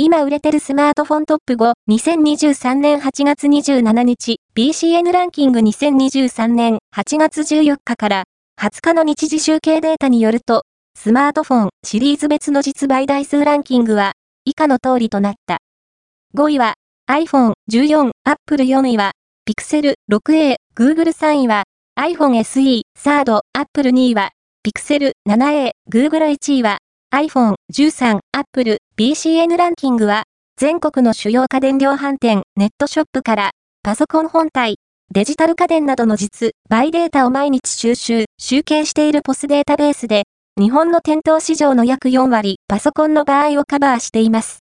今売れてるスマートフォントップ5、2023年8月27日、BCN ランキング2023年8月14日から20日の日時集計データによると、スマートフォンシリーズ別の実売台数ランキングは以下の通りとなった。5位は iPhone 14、Apple 4位は Pixel 6a、Google 3位は iPhone SE、3rd、Apple 2位は Pixel 7a、Google 1位はiPhone 13、Apple、BCN ランキングは、全国の主要家電量販店、ネットショップから、パソコン本体、デジタル家電などの実売データを毎日集計しているPOSデータベースで、日本の店頭市場の約4割、パソコンの場合をカバーしています。